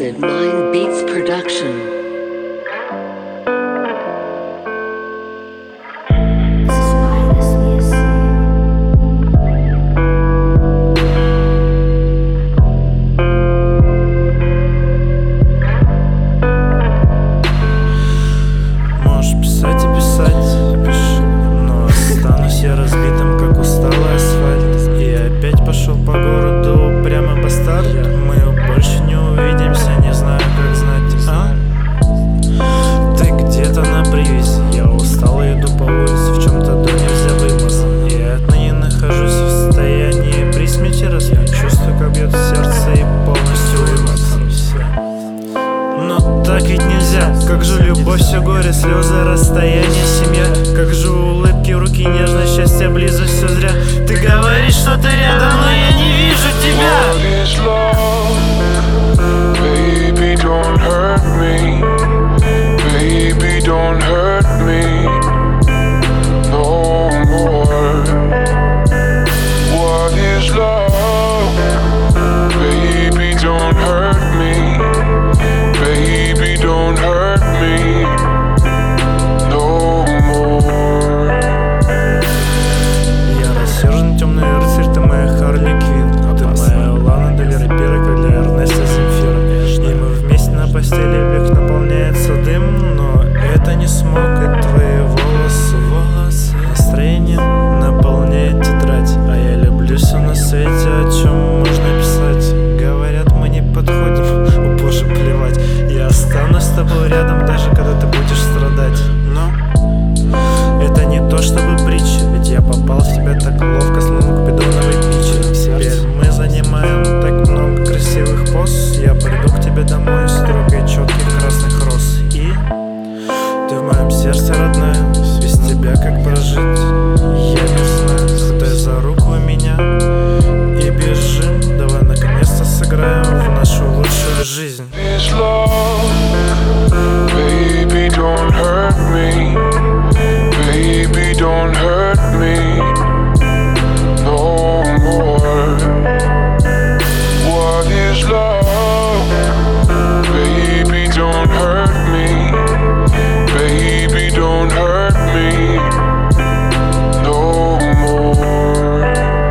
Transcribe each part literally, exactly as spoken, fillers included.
Acid Mind Beats Production. Можешь писать и писать, пиши, но останусь я разбитым, как усталый асфальт. И опять пошел по городу прямо бастард. Мы больше не увидимся, не знаю, как знать, а? Ты где-то на привязи, я устал и иду по улице, в чем-то до нельзя вымазан. Я отныне нахожусь в состоянии при смерти размен. Чувствую, как бьет сердце и полностью вымазан. Но так ведь нельзя. Как же любовь, все горе, слезы, расстояние, семья. Как же улыбки, руки, нежность, счастье, близость, все зря. Ты говоришь, что ты рядом, но я не вижу тебя. Baby, don't hurt me. Baby, don't hurt me no more. What is love? Baby, don't hurt me. Baby, don't hurt me no more. Я рассержен, темный рыцарь, ты моя Харли Квинн. Ты моя Лана Дель Рей, как для Эрнеста Земфира. И мы вместе на постели, век наполняется дым. Но это не смог, и твои волосы, волосы. Настроение наполняет тетрадь. А я люблю все на свете, о чем можно писать. Говорят, мы не подходим, о боже, плевать. Я останусь с тобой рядом, даже когда ты будешь страдать. Но это не то чтобы притча, ведь я попал в тебя так ловко, словно купидоновой пичи. Теперь мы занимаем так много красивых поз. Я приду к тебе домой с трогой четких красных роз. И ты в моем сердце, родная, без тебя как прожить я не знаю. Хватай за руку меня и бежим. Давай наконец-то сыграем в нашу лучшую жизнь. Is love? Baby, don't hurt me. Baby, don't hurt me no more. What is love? Baby, don't hurt me. Baby, don't hurt me no more.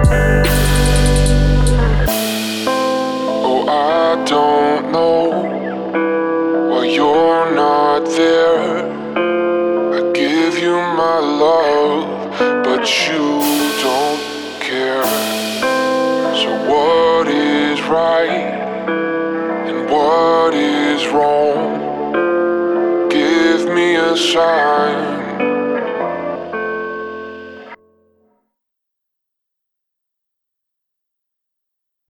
Oh, I don't know why you're not there. I give you my love, but you don't care. So what is right and what is wrong? Give me a sign.